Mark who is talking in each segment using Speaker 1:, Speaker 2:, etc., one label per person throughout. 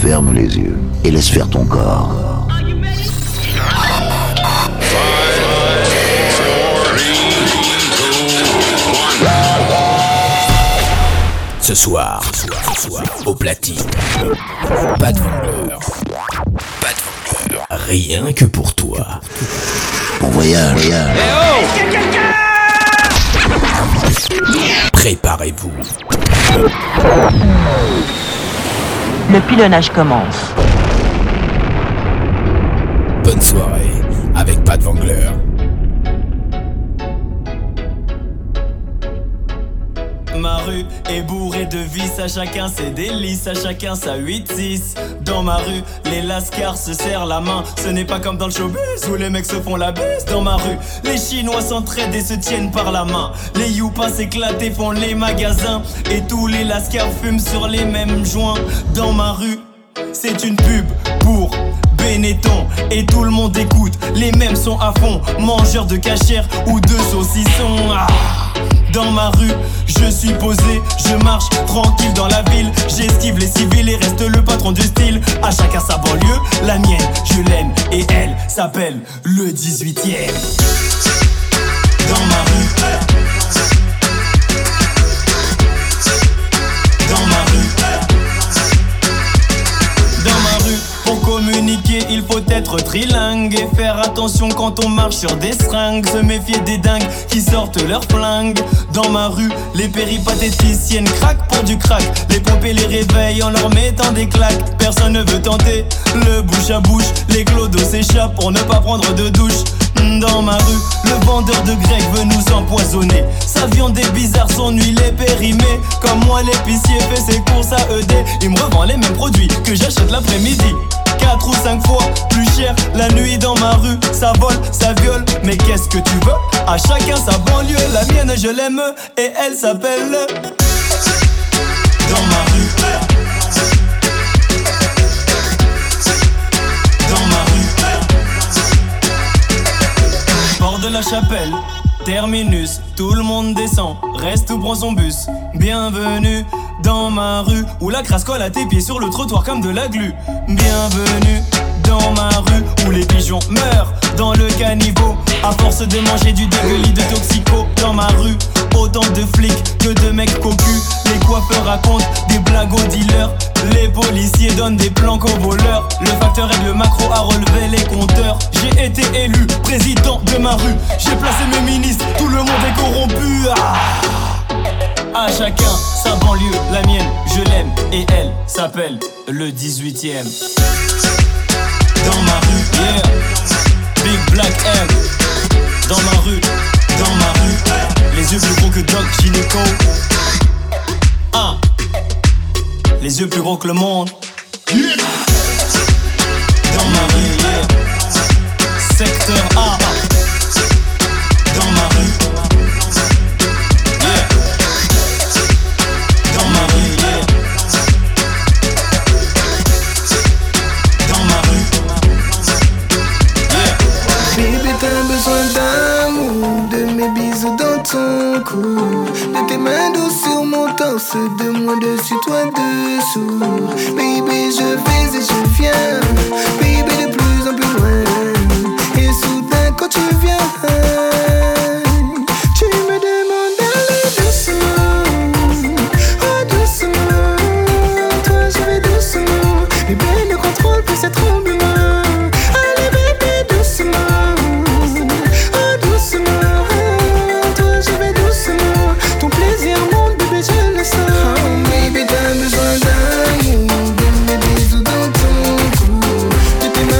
Speaker 1: Ferme les yeux et laisse faire ton corps.
Speaker 2: Ce soir, au platine, pas de vendeur, rien que pour toi.
Speaker 1: Bon voyage.
Speaker 2: Préparez-vous.
Speaker 3: Le pilonnage commence.
Speaker 2: Bonne soirée avec Pat Wangler.
Speaker 4: Ma rue est bourrée de vices, à chacun ses délices, à chacun sa 8-6. Dans ma rue, les lascars se serrent la main. Ce n'est pas comme dans le showbiz où les mecs se font la baisse. Dans ma rue, les Chinois s'entraident et se tiennent par la main. Les youpas s'éclatent et font les magasins. Et tous les lascars fument sur les mêmes joints. Dans ma rue, c'est une pub pour Benetton et tout le monde écoute. Les mêmes sont à fond, mangeurs de cachère ou de saucissons. Dans ma rue, je suis posé, je marche tranquille dans la ville. J'esquive les civils et reste le patron du style. À chacun sa banlieue, la mienne, je l'aime et elle s'appelle le 18e. Dans ma rue, dans ma rue, dans ma rue. Pour communiquer, il faut être trilingue et faire attention quand on marche sur des seringues. Se méfier des dingues qui sortent leurs flingues. Dans ma rue, les péripatéticiennes craquent pour du crack. Les pompées les réveillent en leur mettant des claques. Personne ne veut tenter le bouche à bouche. Les clodos s'échappent pour ne pas prendre de douche. Dans ma rue, le vendeur de grec veut nous empoisonner. Sa viande est bizarre, son huile est périmée. Comme moi l'épicier fait ses courses à ED. Il me revend les mêmes produits que j'achète l'après-midi. 4 ou 5 fois plus cher la nuit dans ma rue. Ça vole, ça viole, mais qu'est-ce que tu veux? À chacun sa banlieue, la mienne je l'aime et elle s'appelle dans ma rue. Dans ma rue. Port de la Chapelle, terminus, tout le monde descend, reste ou prend son bus. Bienvenue dans ma rue, où la crasse colle à tes pieds sur le trottoir comme de la glu. Bienvenue dans ma rue, où les pigeons meurent dans le caniveau à force de manger du dégueulis de toxico. Dans ma rue, autant de flics que de mecs cocus. Les coiffeurs racontent des blagues aux dealers. Les policiers donnent des planques aux voleurs. Le facteur aide le macro à relever les compteurs. J'ai été élu président de ma rue. J'ai placé mes ministres, tout le monde est corrompu. À chacun sa banlieue, la mienne je l'aime et elle s'appelle le 18e. Dans ma rue, yeah, Big Black M. Dans ma rue, les yeux plus gros que Doc Gynéco. Les yeux plus gros que le monde. Dans ma rue, yeah, Secteur A. Dans ma rue.
Speaker 5: De tes mains douces sur mon torse, de moi dessus, toi dessous. Baby, je vais et je viens. Baby, de plus en plus loin. Et soudain, quand tu viens, tu me demandes d'aller doucement. Oh, doucement. Toi, je vais doucement. Bébé, ne contrôle plus ces tremblements. Allez, bébé, doucement. Ton plaisir monte, bébé, je le sens. Oh, baby, t'as besoin d'amour, de mes bisous dans ton cou. De tes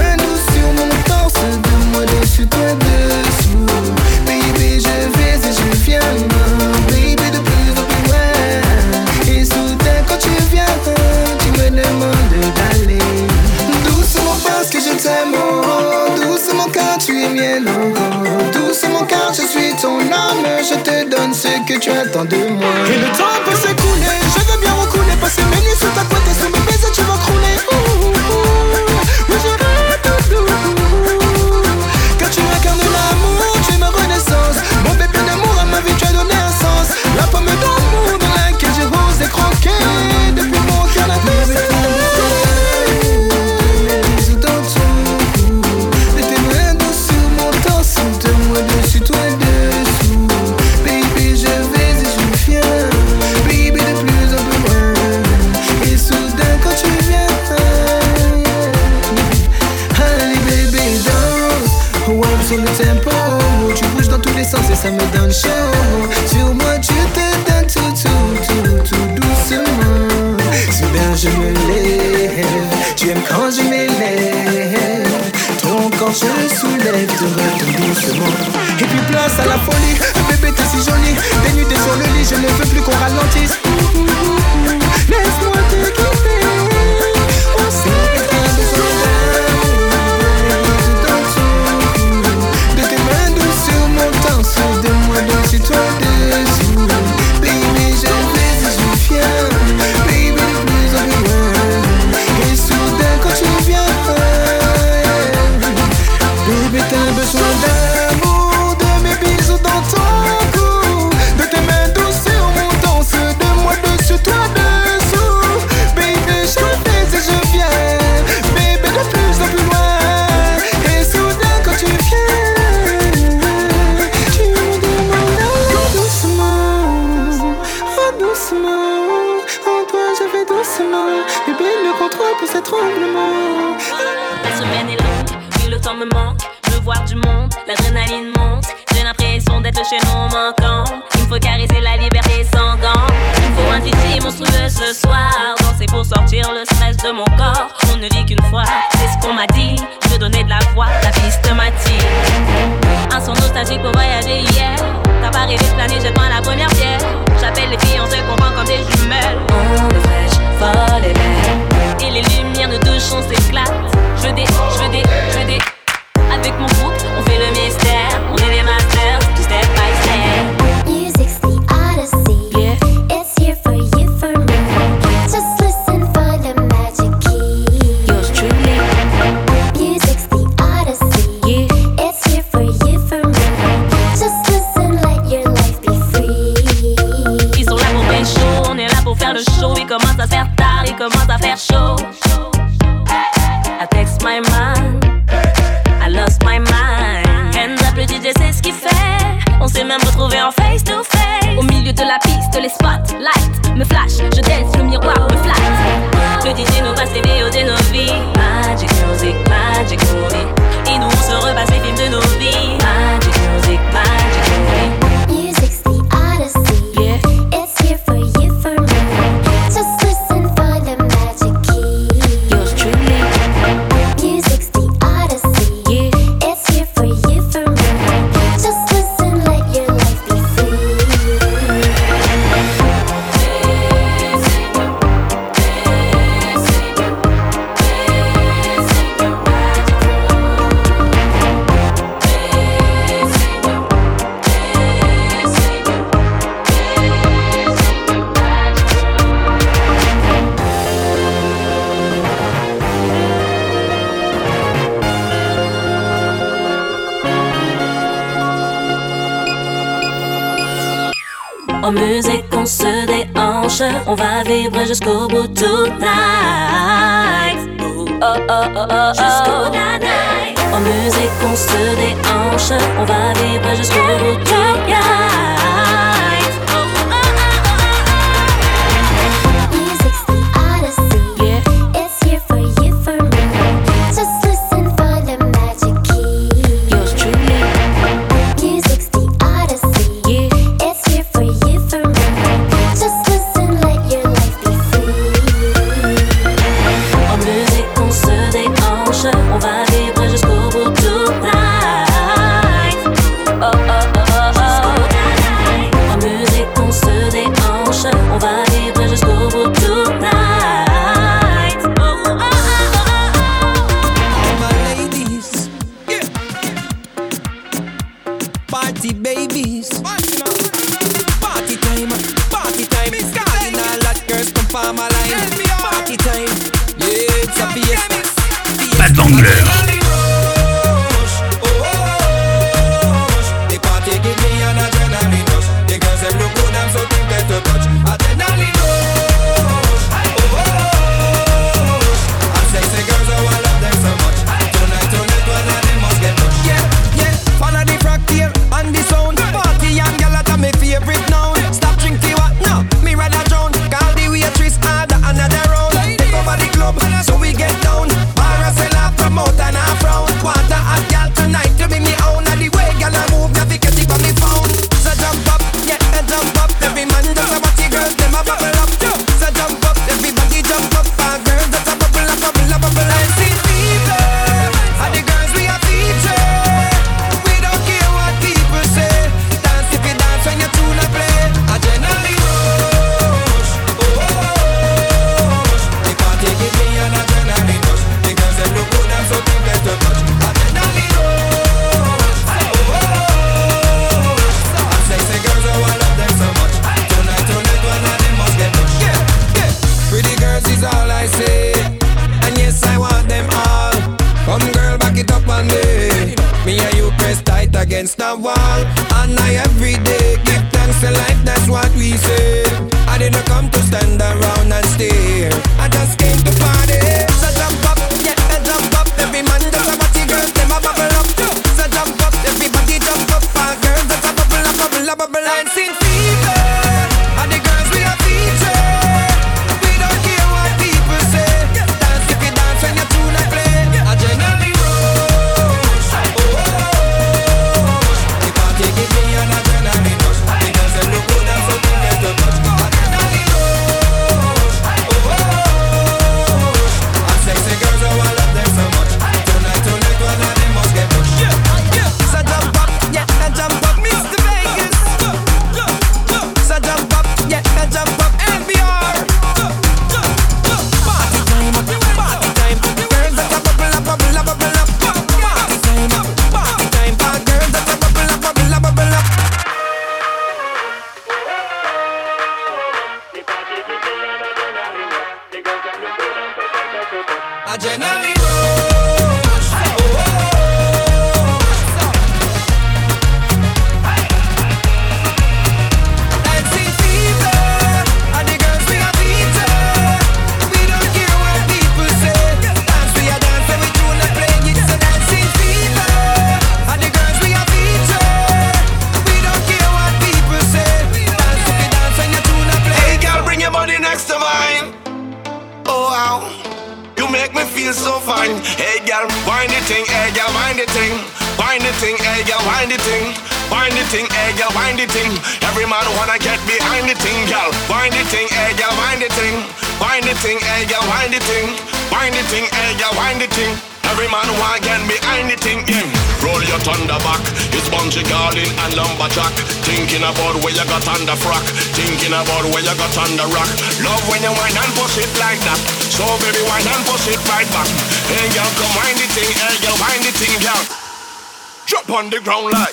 Speaker 5: même quand je m'élève. Ton corps je le soulève, te retombe doucement. Et puis place à la folie, bébé t'es si jolie. Des nuits t'es sur le lit, je ne veux plus qu'on ralentisse. Laisse-moi te quitter. On sait que t'as besoin de tes mains douces sur mon torse, de moi dessus, toi dessous. Baby je vais et je viens, baby de plus en plus loin. Et soudain quand tu viens, baby t'as besoin d'amour, de mes bisous dans ton cou, de tes mains douces sur mon torse, de moi dessus, toi dessous. Baby je vais et je viens, baby de plus en plus loin. Et soudain quand tu viens, tu me demandes doucement, oh doucement. En toi je vais doucement, bébé le contrôle pour cet tremblement.
Speaker 6: La semaine est longue, oui le temps me manque. Je veux voir du monde, l'adrénaline monte. J'ai l'impression d'être le chaînon manquant. Il me faut caresser la liberté sans gants. Il me faut un titi monstrueux ce soir. Danser pour sortir le stress de mon corps. On ne vit qu'une fois, c'est ce qu'on m'a dit. Je donnais de la voix, la piste m'attire. Un son nostalgique pour voyager hier. T'as pas rêvé de planer, jette-moi la première pierre. J'appelle les filles, on se comprend comme des jumelles. On est fraîche, folle et belle. Et les lumières nous touchent, on s'éclate. Je veux des. Avec mon groupe, on fait le mystère. On est les masters, du step by step.
Speaker 7: Music's the odyssey. Yeah. It's here for you, for me. Just listen for the magic key.
Speaker 6: Yours truly.
Speaker 7: Music's the odyssey.
Speaker 6: Yeah.
Speaker 7: It's here for you, for me. Just listen, let your life be free.
Speaker 6: Ils sont là pour pécho, on est là pour faire le show. Il commence à se faire tard, il commence à faire chaud. I text my man, I lost my mind. Hands up, le DJ sait ce qu'il fait. On s'est même retrouvé en face to face. Au milieu de la piste, les spotlights me flash, je dance, le miroir me flatte. Le DJ nous passe les VO de nos vies. Magic music, magic movie. Et nous on se repasse les films de nos vies. Magic music, magic movie.
Speaker 7: Music's the odyssey.
Speaker 6: Yeah.
Speaker 7: It's here for you, for me. Just listen for the magic key.
Speaker 6: Yours truly.
Speaker 7: Music's the odyssey.
Speaker 6: Yeah.
Speaker 7: It's here for you, for me. Just listen, let your life be free.
Speaker 6: En musique on se déhanche, on va vivre jusqu'au bout tonight. Oh oh oh oh oh, jusqu'au night. En musique on se déhanche, on va vivre jusqu'au bout tonight.
Speaker 7: Music's the odyssey.
Speaker 6: Yeah.
Speaker 7: It's here for you, for me. Just listen for the magic key.
Speaker 6: Yours truly.
Speaker 7: Music's the odyssey.
Speaker 6: Yeah.
Speaker 7: It's here for you, for me. Just listen, let your life be free.
Speaker 6: En musique on se déhanche, on va vivre jusqu'au bout tonight. Oh oh oh oh oh. En musique on se déhanche, on va vivre jusqu'au bout tonight. Oh oh oh oh.
Speaker 8: My ladies, yeah. Party babies, party time, party time. Calling all that girls come for my line. Party time, yeah, it's a fiesta.
Speaker 2: Pat Vangler.
Speaker 8: The party give me an adrenaline rush. The girls them look good and so tempted to touch. Adrenaline rush, and sexy girls I want love them so much. Tonight one of them must get touched. Yeah, yeah. Follow the fractal and the sound. Party and gyal at my favorite now. Stop drinking what? No, me rather drown. Call the waitress order another round. Take over the club so we get down. Bar a sell a promote and a I say. And yes, I want them all. Come girl, back it up on me. Me and you press tight against the wall. And I every day give thanks to life, that's what we say. I didn't come to stand around and stare. I just came to party. So jump up, yeah, jump up. Every man just a party, girls, them a bubble up. So jump up, everybody jump up. All girls just a bubble up, bubble up, bubble up. Dancing fever, and the girls we are featured. We don't care what people say. Dance if you dance when your tune I play. Adrenaline rush, oh, oh, oh. The party give me an adrenaline rush. The girls them look good and so they get to touch. Adrenaline rush, oh, oh, oh. And sexy girls, oh I love them so much. Tonight, one of them must get pushed. So jump up, yeah, jump up, Mr. Vegas. So jump up, yeah, jump up, NPR. Party time, party time. Girls that a bubble up, bubble up, bubble up. Party time, party time. All girls that a bubble up, bubble up, bubble up. Adrenaline rush, oh, oh, oh. Dancing fever, and the girls we are featured. We don't care what people say. Dance we are dance and we tune and play. It's a dancing fever, and the girls we are featured. We don't care what people say. Dance if you dance and you tune and play. Hey girl, bring your body next to mine. Oh wow, you make me feel so fine. Hey girl, wind the thing, hey girl, wind the thing. Wind the thing, hey girl, wind the thing. Wind the thing, hey girl, wind the thing. Every man wanna get behind the thing, girl. Wind the thing, hey girl, wind the thing. Wind the thing, hey girl, wind the thing. Wind the thing, hey girl, wind the thing. Every man wanna get behind the thing, yeah. Roll your thunder back. It's Bungie Garlin and Lumberjack. Thinking about where you got under frack. Thinking about where you got under rock. Love when you whine and push it like that. So baby, whine and push it right back. Hey girl, come wind the thing. Hey girl, wind the thing, girl. Drop on the ground like.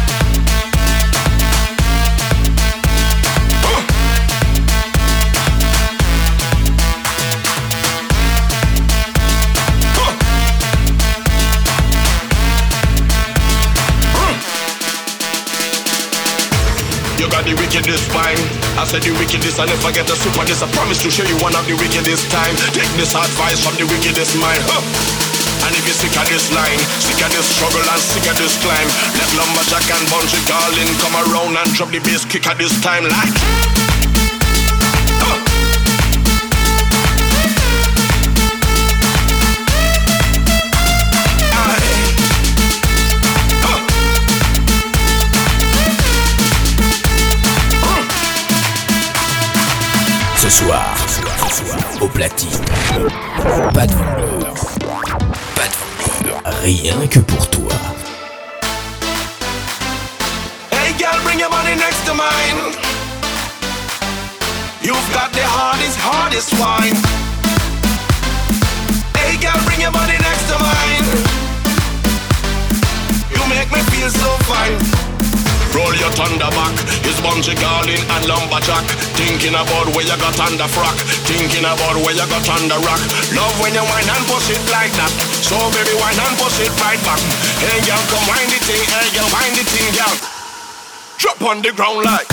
Speaker 8: You got the wickedest mind. I said the wickedest, I never get a super this. I promise to show you one of the wickedest time. Take this advice from the wickedest mind. And if you're sick of this line, sick of this struggle and sick of this climb, let Lumberjack and Bungie Garlin come around and drop the bass kick at this time like.
Speaker 2: Ce soir, au platine, pas de vendeur, rien que pour toi.
Speaker 8: Hey girl, bring your money next to mine. You've got the hardest wine. Hey girl, bring your money next to mine. You make me feel so fine. Roll your thunder back. It's Bungie Garlin and Lumberjack. Thinking about where you got under frack. Thinking about where you got under rock. Love when you whine and push it like that. So baby, whine and push it right back. Hey girl, come wind the thing. Hey girl, wind the thing, girl. Drop on the ground like.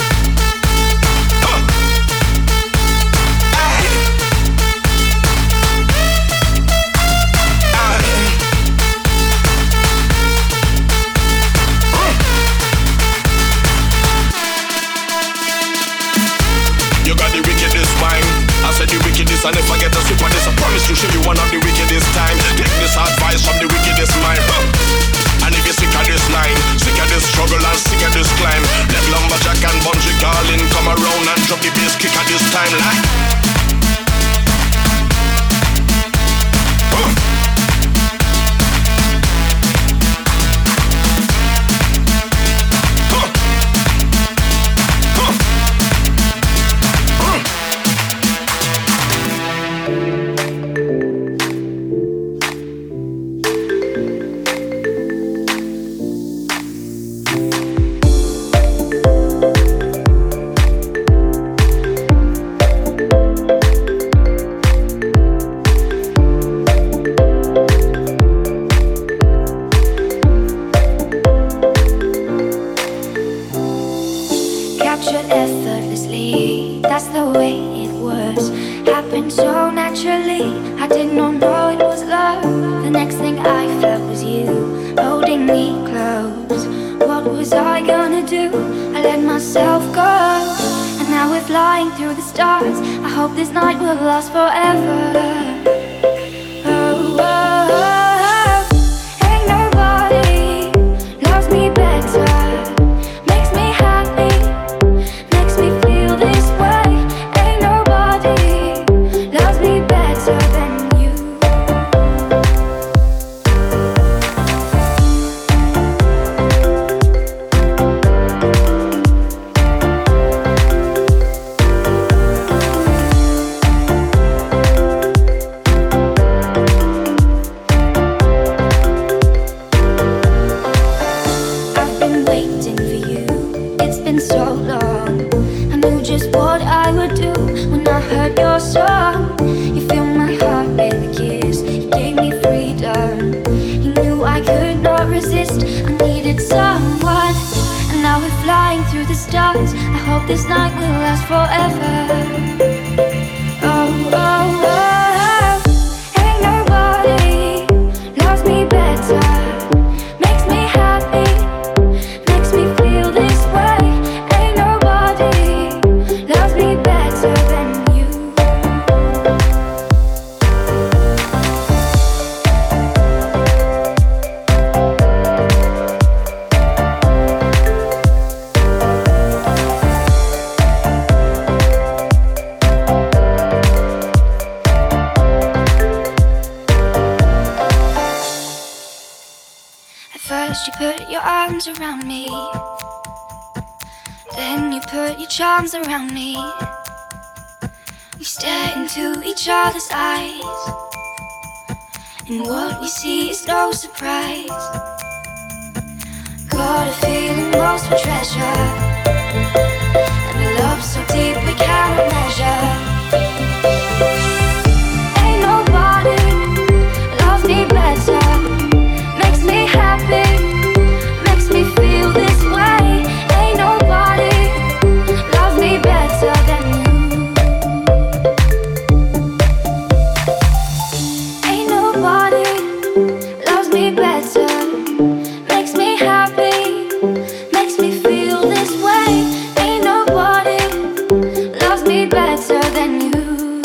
Speaker 8: You got the wickedest mind. I said the wickedest, I never get a super this. I promise to show you one of the wickedest time. Take this advice from the wickedest mind. And if you're sick of this line, sick of this struggle and sick of this climb, let Lumberjack and Bungie Garlin come around and drop the bass kick at this time like.
Speaker 7: was happened so naturally. I did not know it was love. The next thing I felt was you holding me close. What was I gonna do? I let myself go, and now we're flying through the stars. I hope this night will last forever. Oh, oh, oh. Ain't nobody loves me better. Makes me happy, makes me feel this way. Ain't nobody loves me better than you. I've been waiting for you, it's been so long. I knew just what I would do when I heard your song. You filled my heart with a kiss, you gave me freedom. You knew I could not resist, I needed someone. And now we're flying through the stars. I hope this night will last forever. Oh, oh, oh. Ain't nobody loves me better. Makes me happy, makes me feel this way. Ain't nobody loves me better than you. At first you put your arms around me, then you put your charms around me. We stare into each other's eyes, and what we see is no surprise. Got a feeling lost for treasure, and a love so deep we cannot measure. Ain't nobody loves me better. Makes me happy, makes me feel this way. Ain't nobody loves me better than you. Ain't nobody loves me better. Makes me happy, makes me feel this way. Ain't nobody loves me better than you.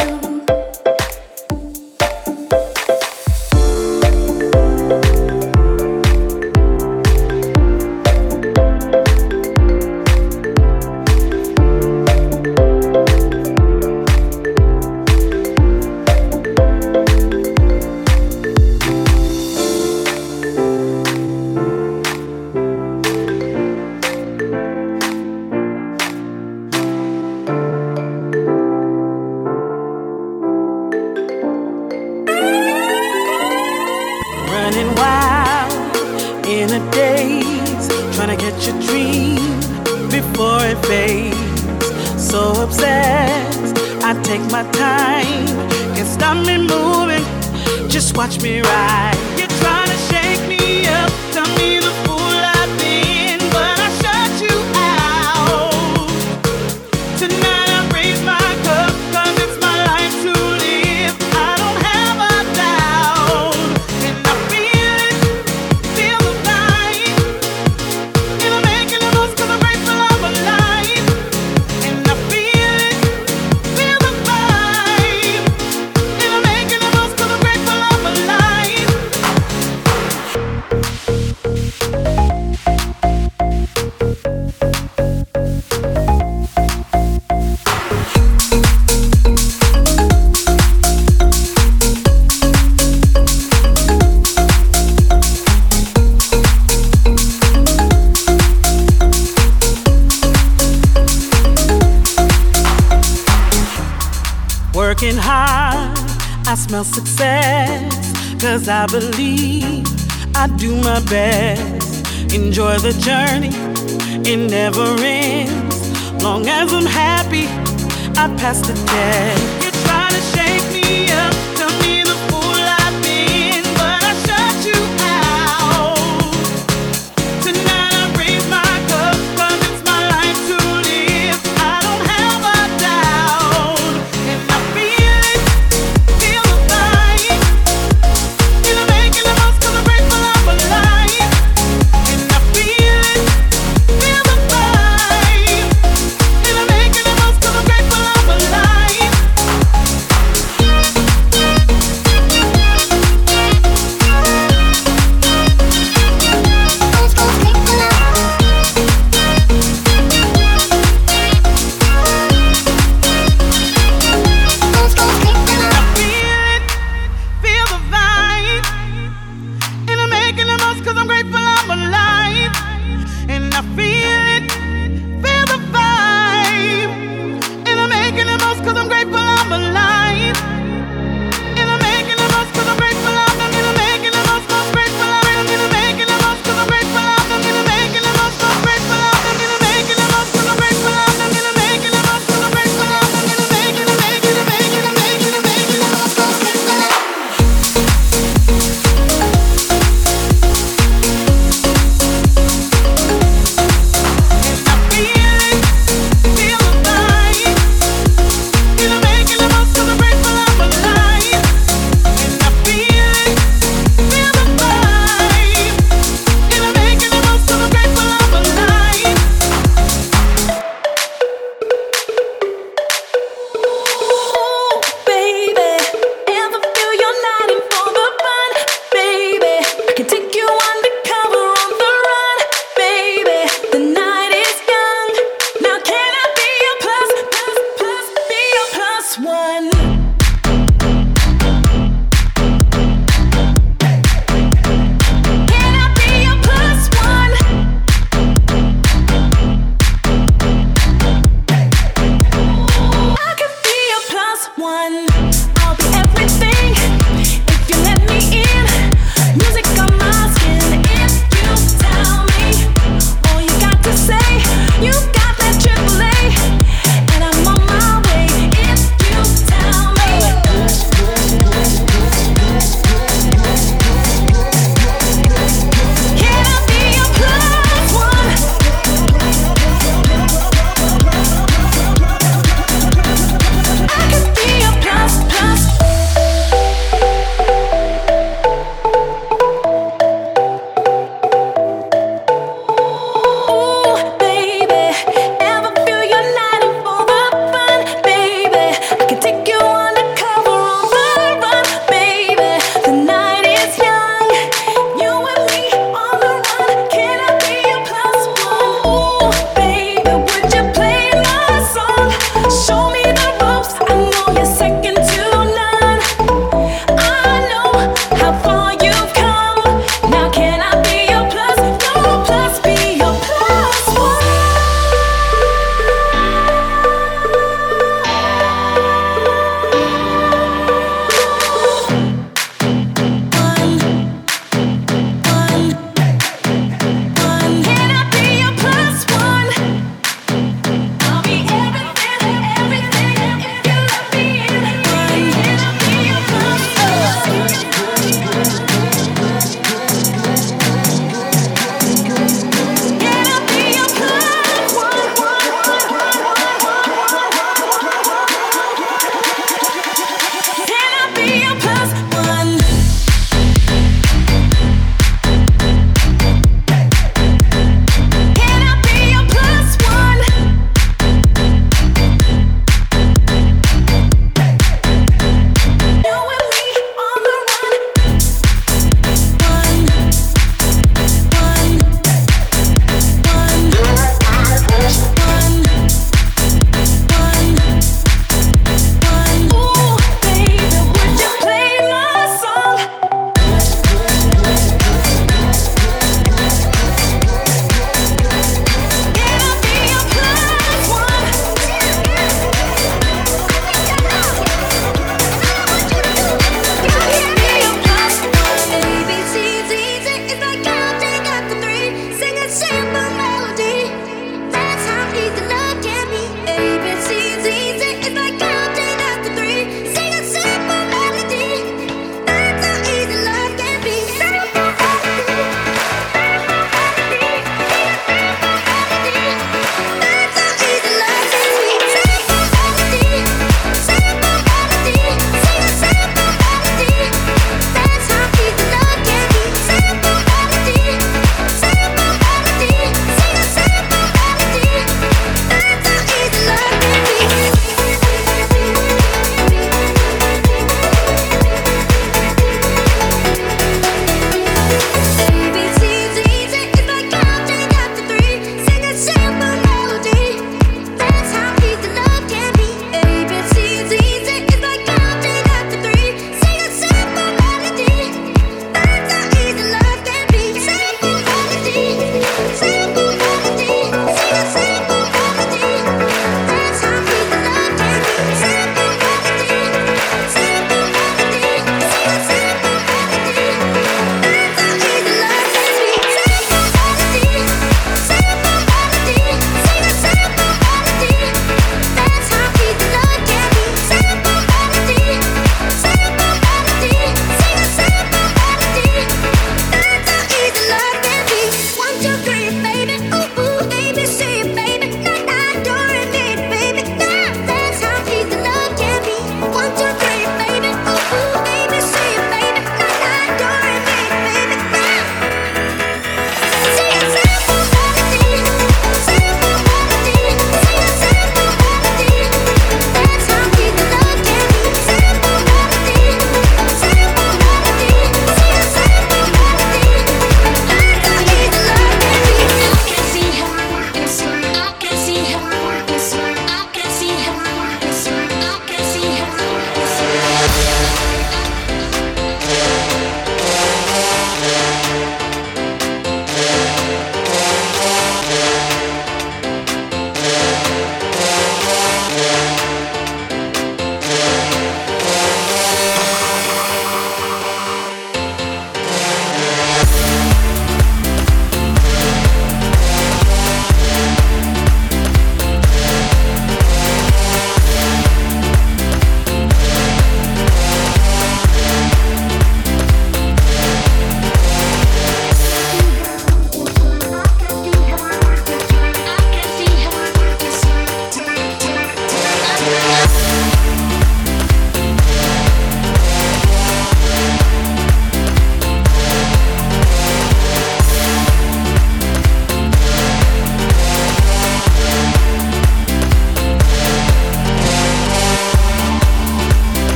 Speaker 9: Running wild in a daze, trying to catch a dream before it fades. So obsessed, I take my time, can't stop me moving, just watch me ride. You're trying to shake me up, tell me the fool I've been, but I shut you out. Tonight I raise my cup, 'cause it's my life to live. I don't have a doubt, and I feel it, feel the vibe. And I'm making the most 'cause I'm grateful I'm alive. And I feel it, feel the vibe. And I'm making the most 'cause I'm grateful I'm alive. Working hard, I smell success, 'cause I believe I do my best. Enjoy the journey, it never ends. Long as I'm happy, I pass the test. You're trying to shake me up, tell me the fool I've been, but I shut you out. Tonight I raise my cup, 'cause it's my life to live. I don't have a doubt.
Speaker 10: You got that AAA, and I'm on my way. If you tell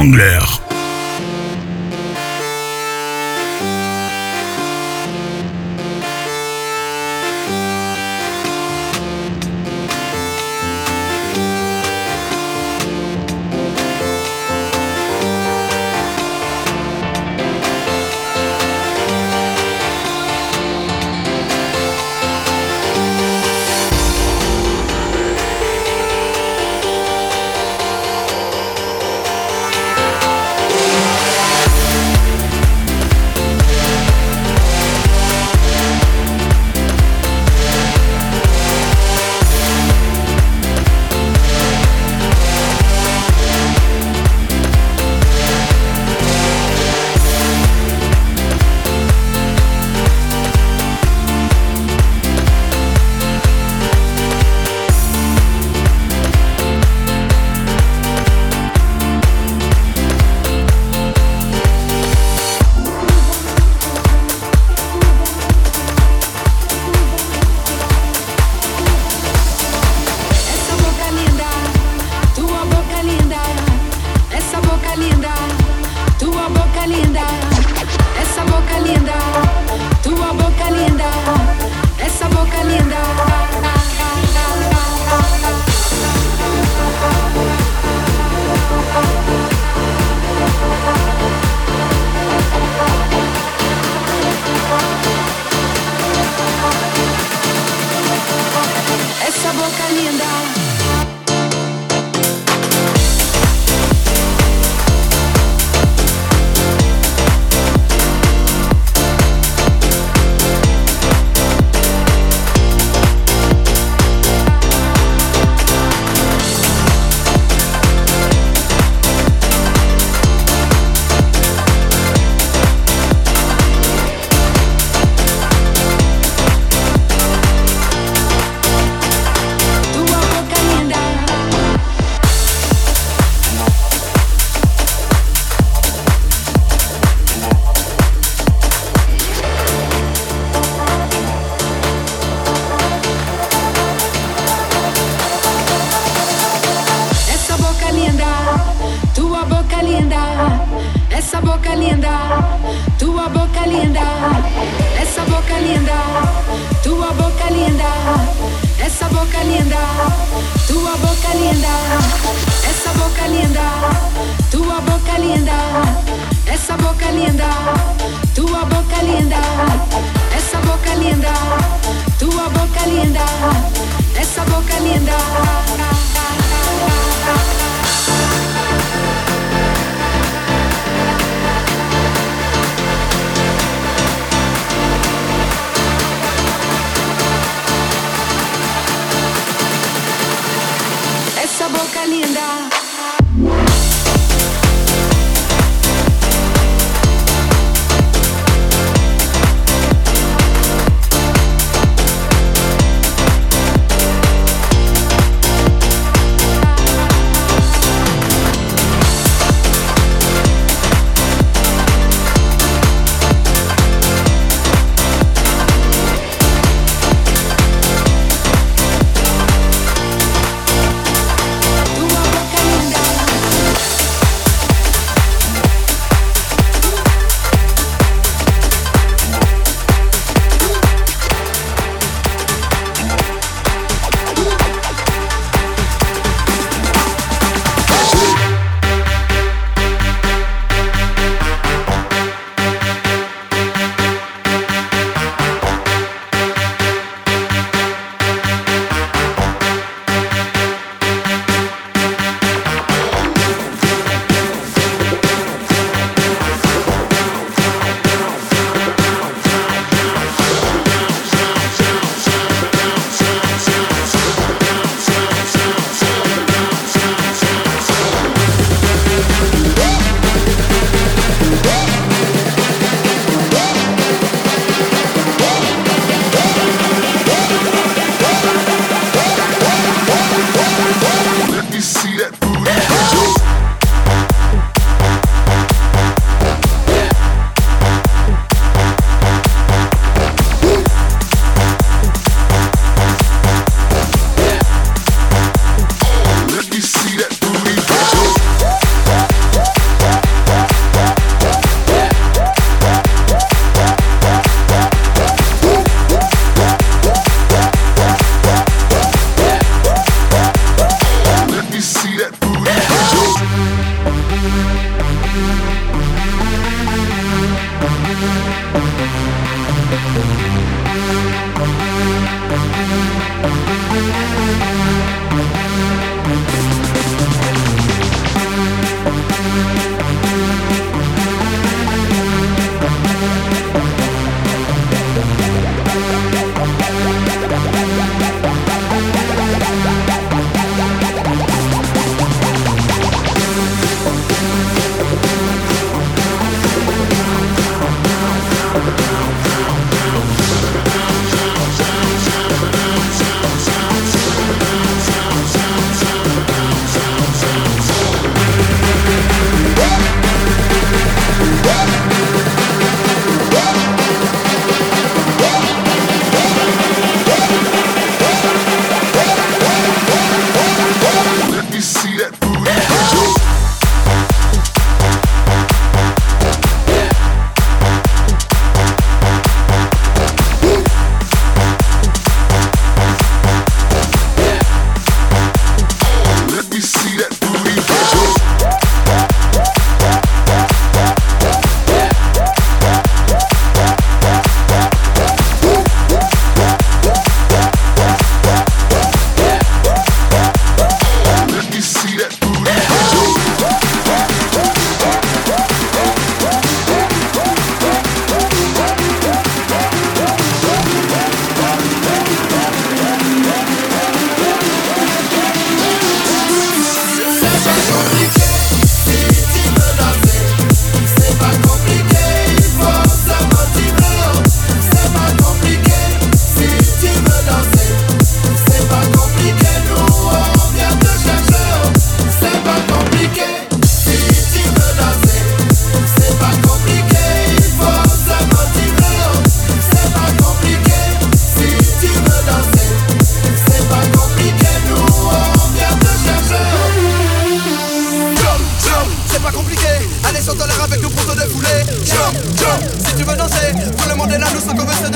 Speaker 2: Wrangler.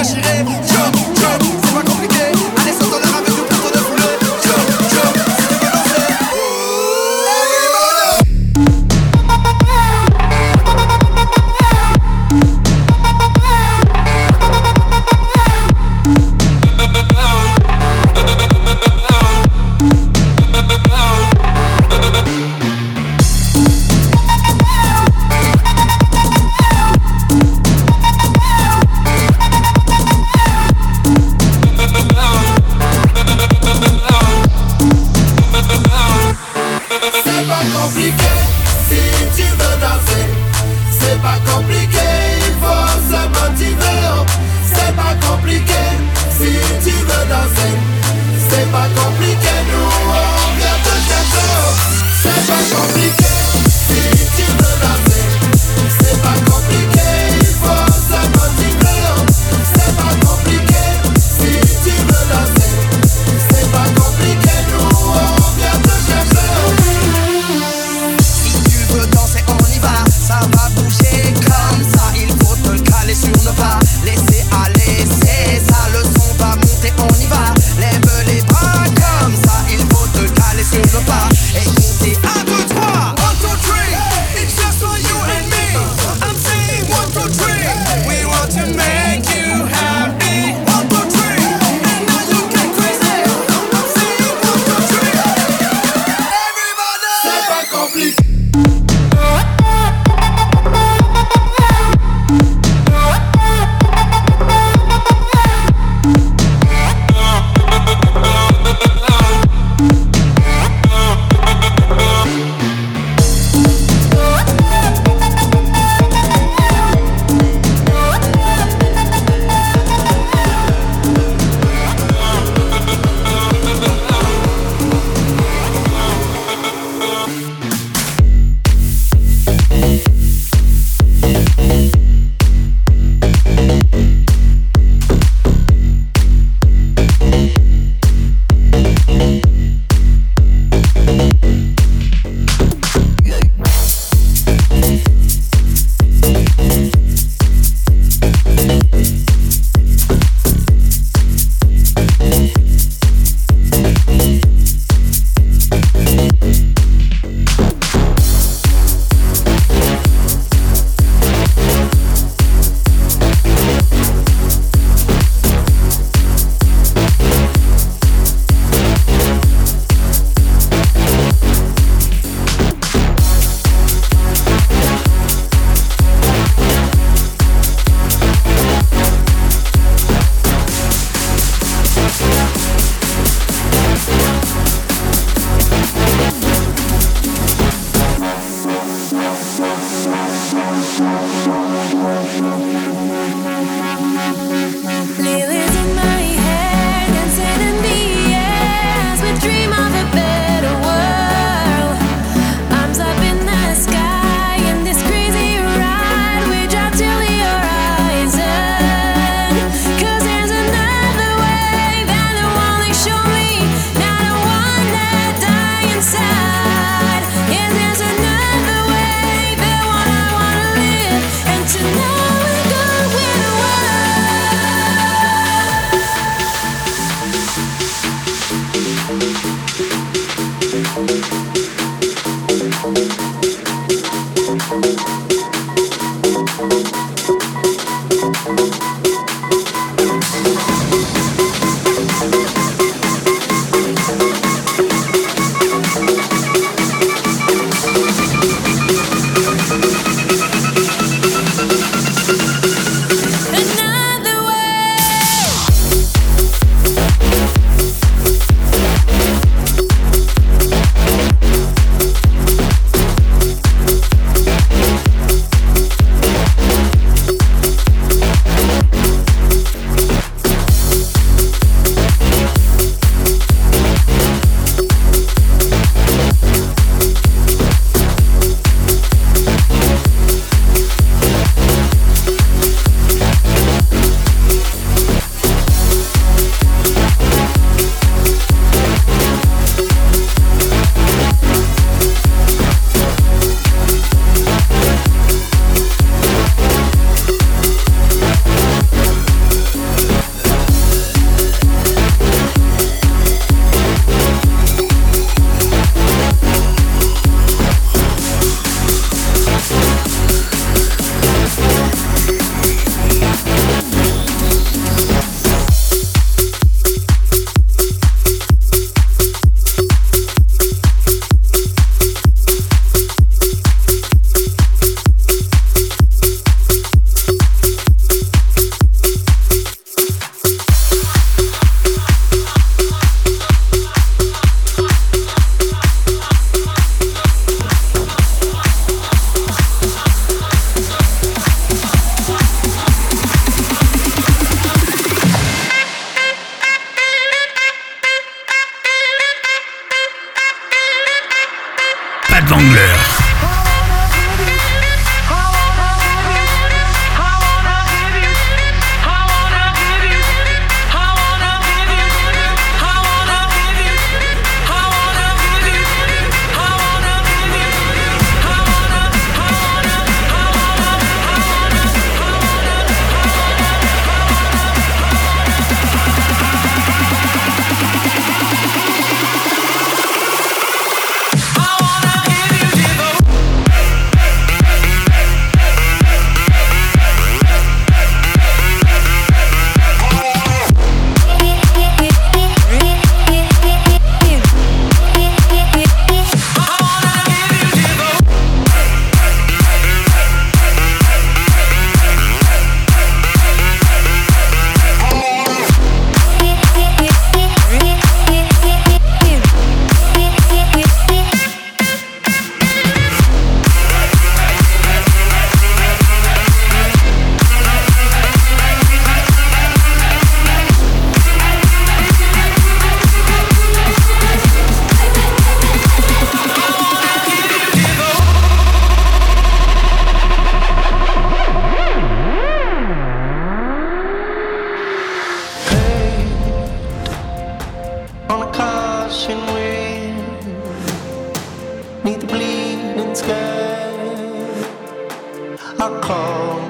Speaker 8: déchiré. Joe, c'est pas compliqué. Allez, saute dans l'air avec nous, plutôt de fouler. Joe, si tu veux danser.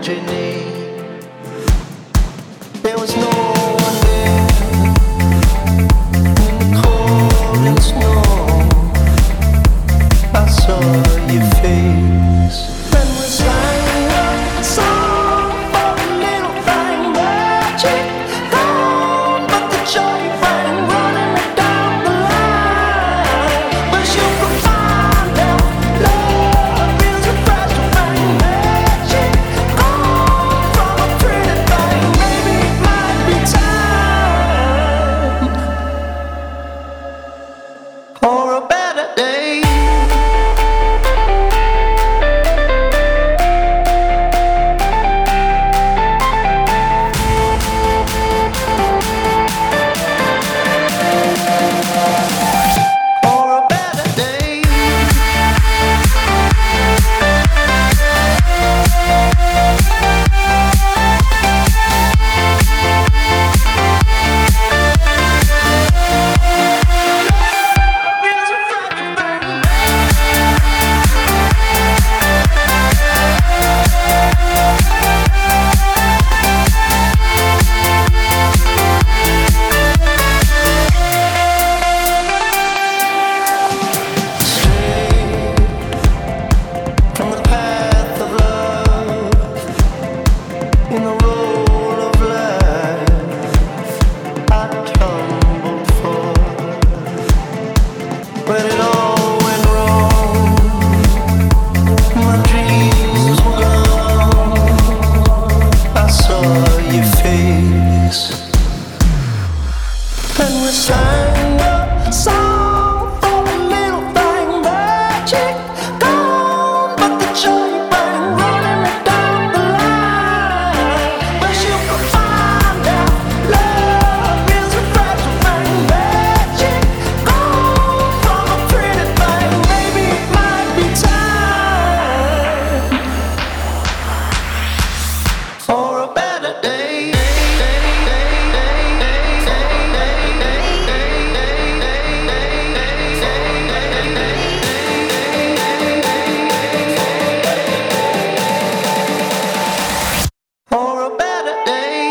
Speaker 10: imagining. There was no one there in the cold and snow. I saw your face. When we sang a song for a little thing, magic gone, but the joy rang, running down the line. But you could find out love is a fragile thing, magic gone from a pretty thing. Maybe it might be time for a better day. From the path of love, in the roll of life, I tumbled for. When it all went wrong, my dreams were gone. I saw your face, and we sang a song for a little thing, magic gone, but the joy rang, running down the line. But you could find out love is a fragile thing, magic gone from a pretty thing. Maybe it might be time for a better day. For a better day.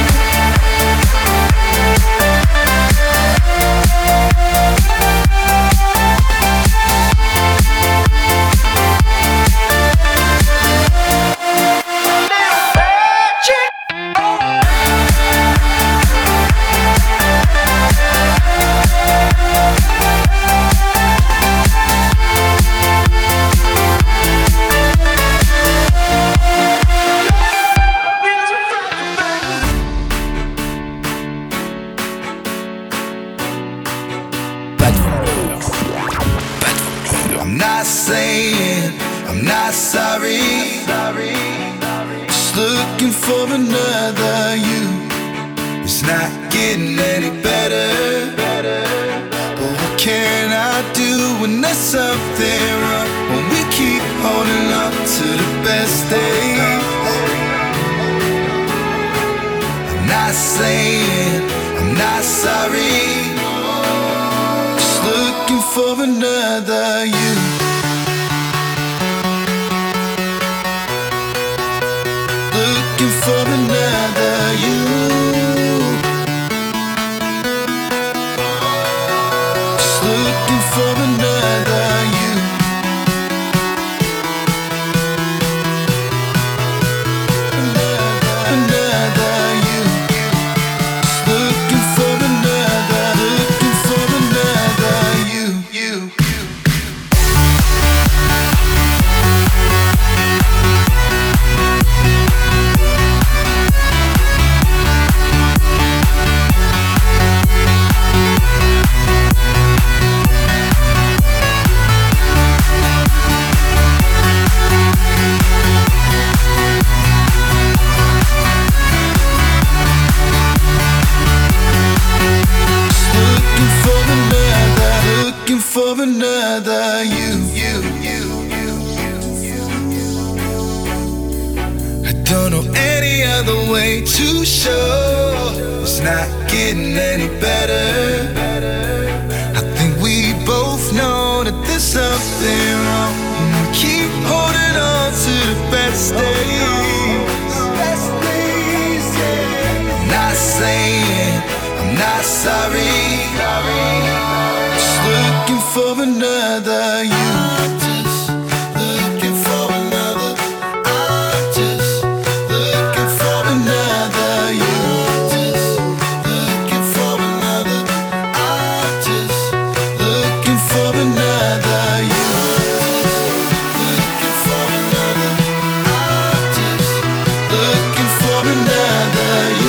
Speaker 2: Pas de vendeur.
Speaker 11: I'm not saying I'm not sorry. Just looking for another you. It's not getting any better. But what can I do when there's something wrong? When we keep holding on to the best days. I'm not saying I'm not sorry. Just looking for another you. Looking for another you. Just looking for another you. Another you. Just looking for another you. For another you. I don't know any other way to show it's not getting any better. I think we both know that there's something wrong. We keep holding on to the best days. saying I'm not sorry. Just looking for another you. Just looking for another. I'm just looking for another you. Just looking for another. I'm just looking for another you. Looking for another. I'm just looking for another you.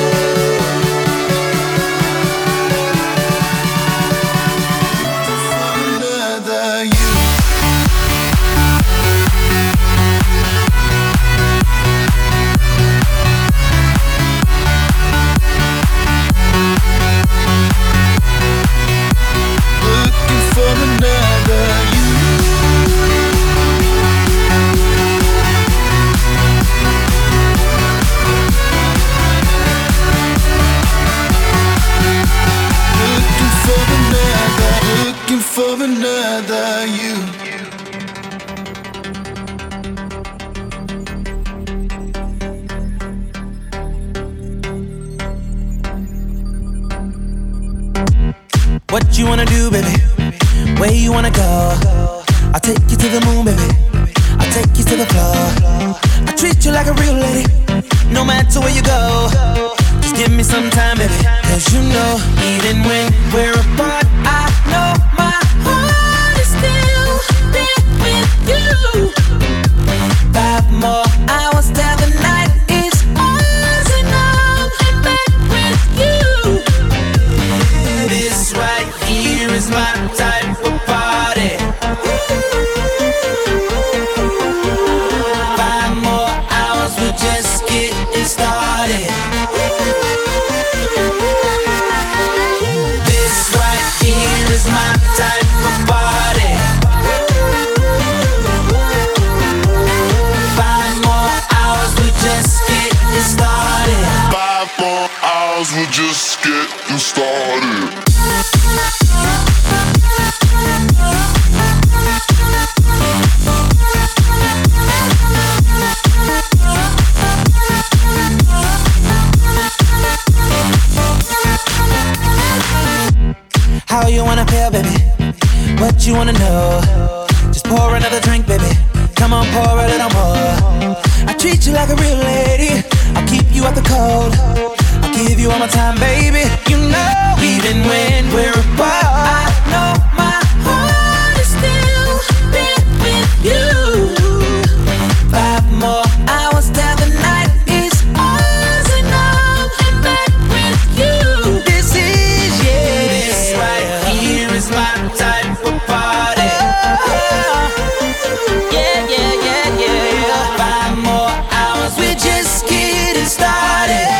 Speaker 11: For another you.
Speaker 12: What you wanna do, baby? Where you wanna go? I'll take you to the moon, baby. I'll take you to the floor. I treat you like a real lady, no matter where you go. Just give me some time, baby. Cause you know, even when we're apart, I know my heart is still there with you. 5 more hours till the night is ours, and I'm back with you. This right here is my type of party. 5 more hours, we're just getting started. This right here is my type of party. 5 more hours, we're just getting started.
Speaker 11: 5 more hours, we're just getting started.
Speaker 12: How you wanna feel, baby? What you wanna know? Just pour another drink, baby. Come on, pour a little more. I treat you like a real lady. I'll keep you out the cold. I'll give you all my time, baby. You know, even when we're apart, I know my heart is still there with you. 5 more hours till the night is ours, and I'm back with you. This is, yeah, this right here is my type of party. Yeah, yeah, yeah, yeah. 5 more hours, we're just getting started.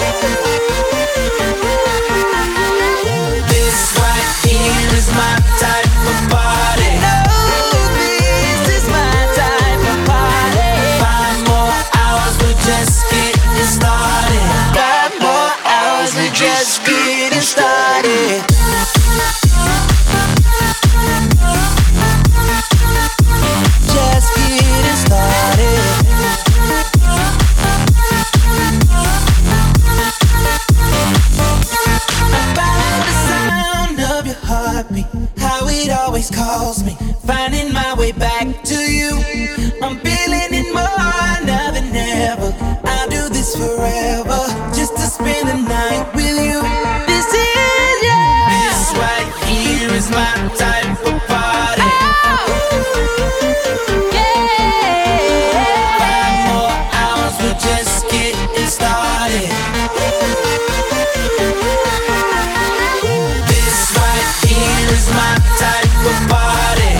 Speaker 12: This right here is my type of party. No, this is my type of party. 5 more hours, we're just getting started. 5 more hours, we're just getting started. Just getting started. I follow the sound of your heartbeat, how it always calls me, finding my way back to you. I'm feeling it more now than ever. I'll do this forever, just to spend the night with you. This is, yeah, this right here is my type of party. Yeah. 5 more hours, we're just getting started. This right here is my type of party.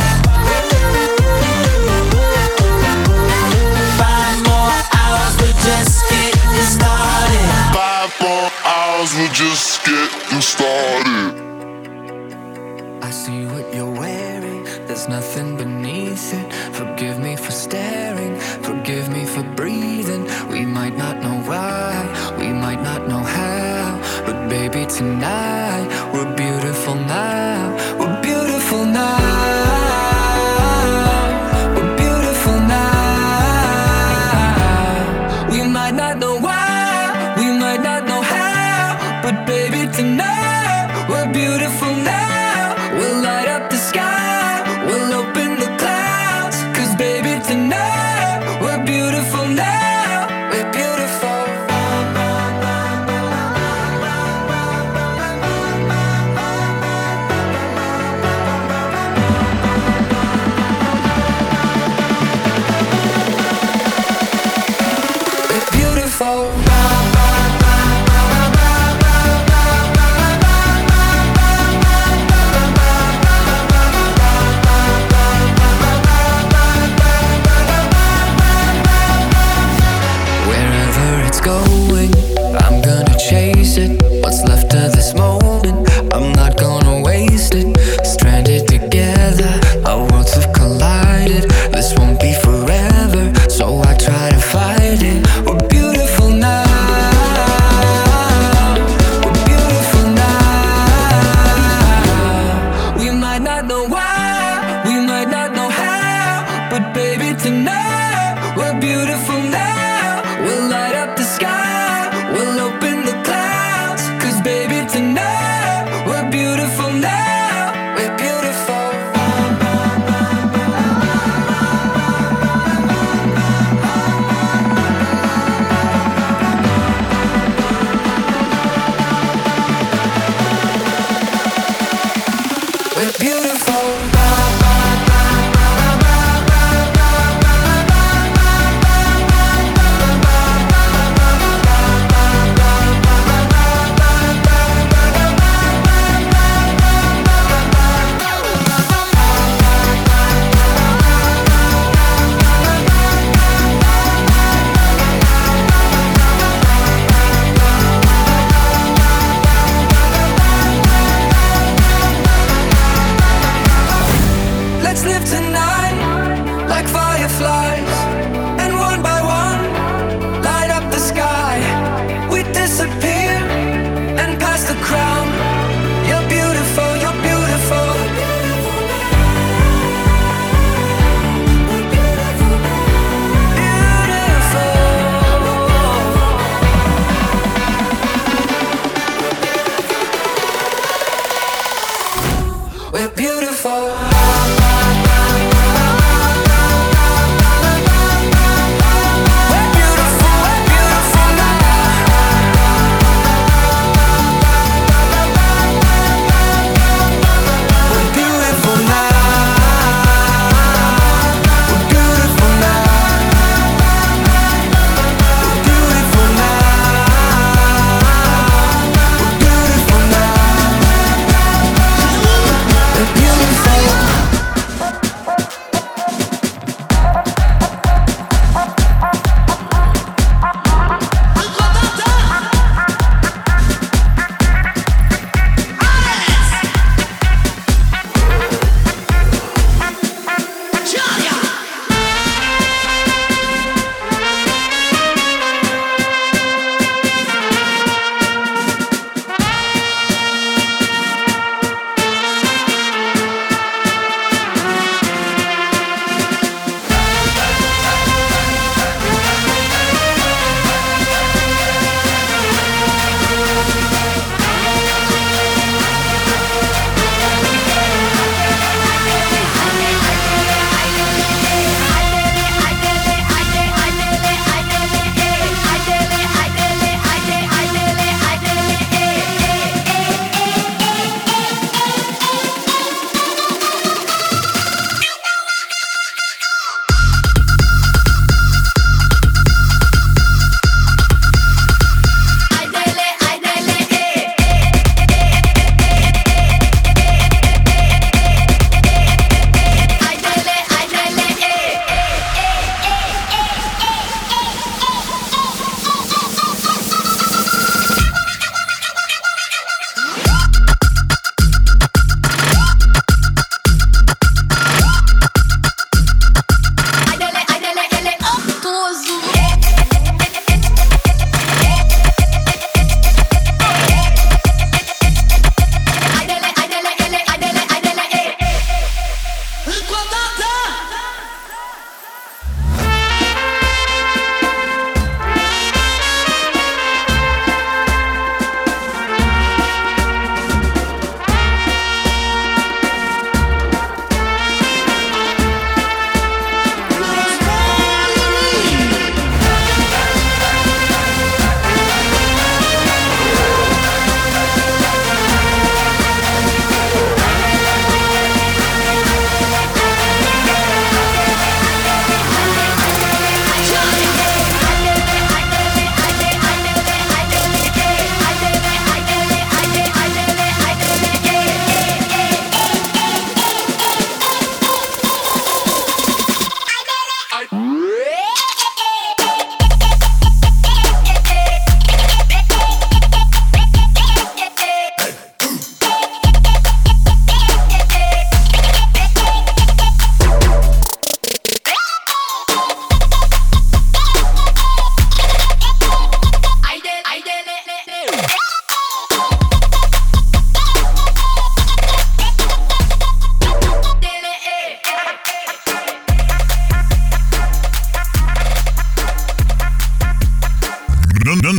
Speaker 12: 5 more hours, we're just getting started.
Speaker 11: 5 more hours, we're just getting started.
Speaker 13: I see what you're wearing, there's nothing beneath it. Forgive me for staring, forgive me for breathing. We might not know why, we might not know how, but baby tonight, we're beautiful now. We're beautiful now. We're beautiful now. We might not know why, we might not know how,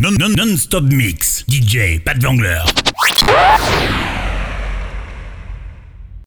Speaker 2: Non-stop mix. DJ Pat Wangler.